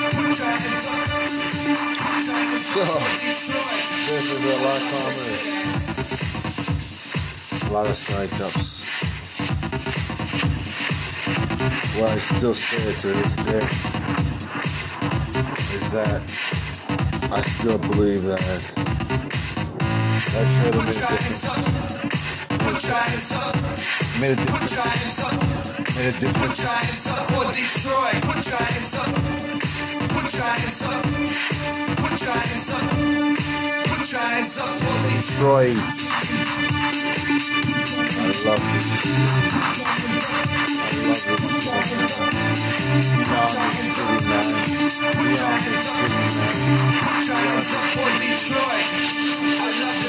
So, this is a lot calmer. A lot of psych-ups. What I still say to this day is that I still believe that trailer made a difference. Made a difference. Made a difference. For Detroit. Put your hands up. Put your hands up. Put your hands up. Put your hands up for Detroit. I love this city. I love this city. Beyond this city, man. Beyond this city, man. Put your hands up for Detroit. I love